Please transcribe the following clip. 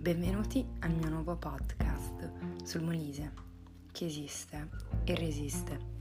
Benvenuti al mio nuovo podcast sul Molise, che esiste e resiste.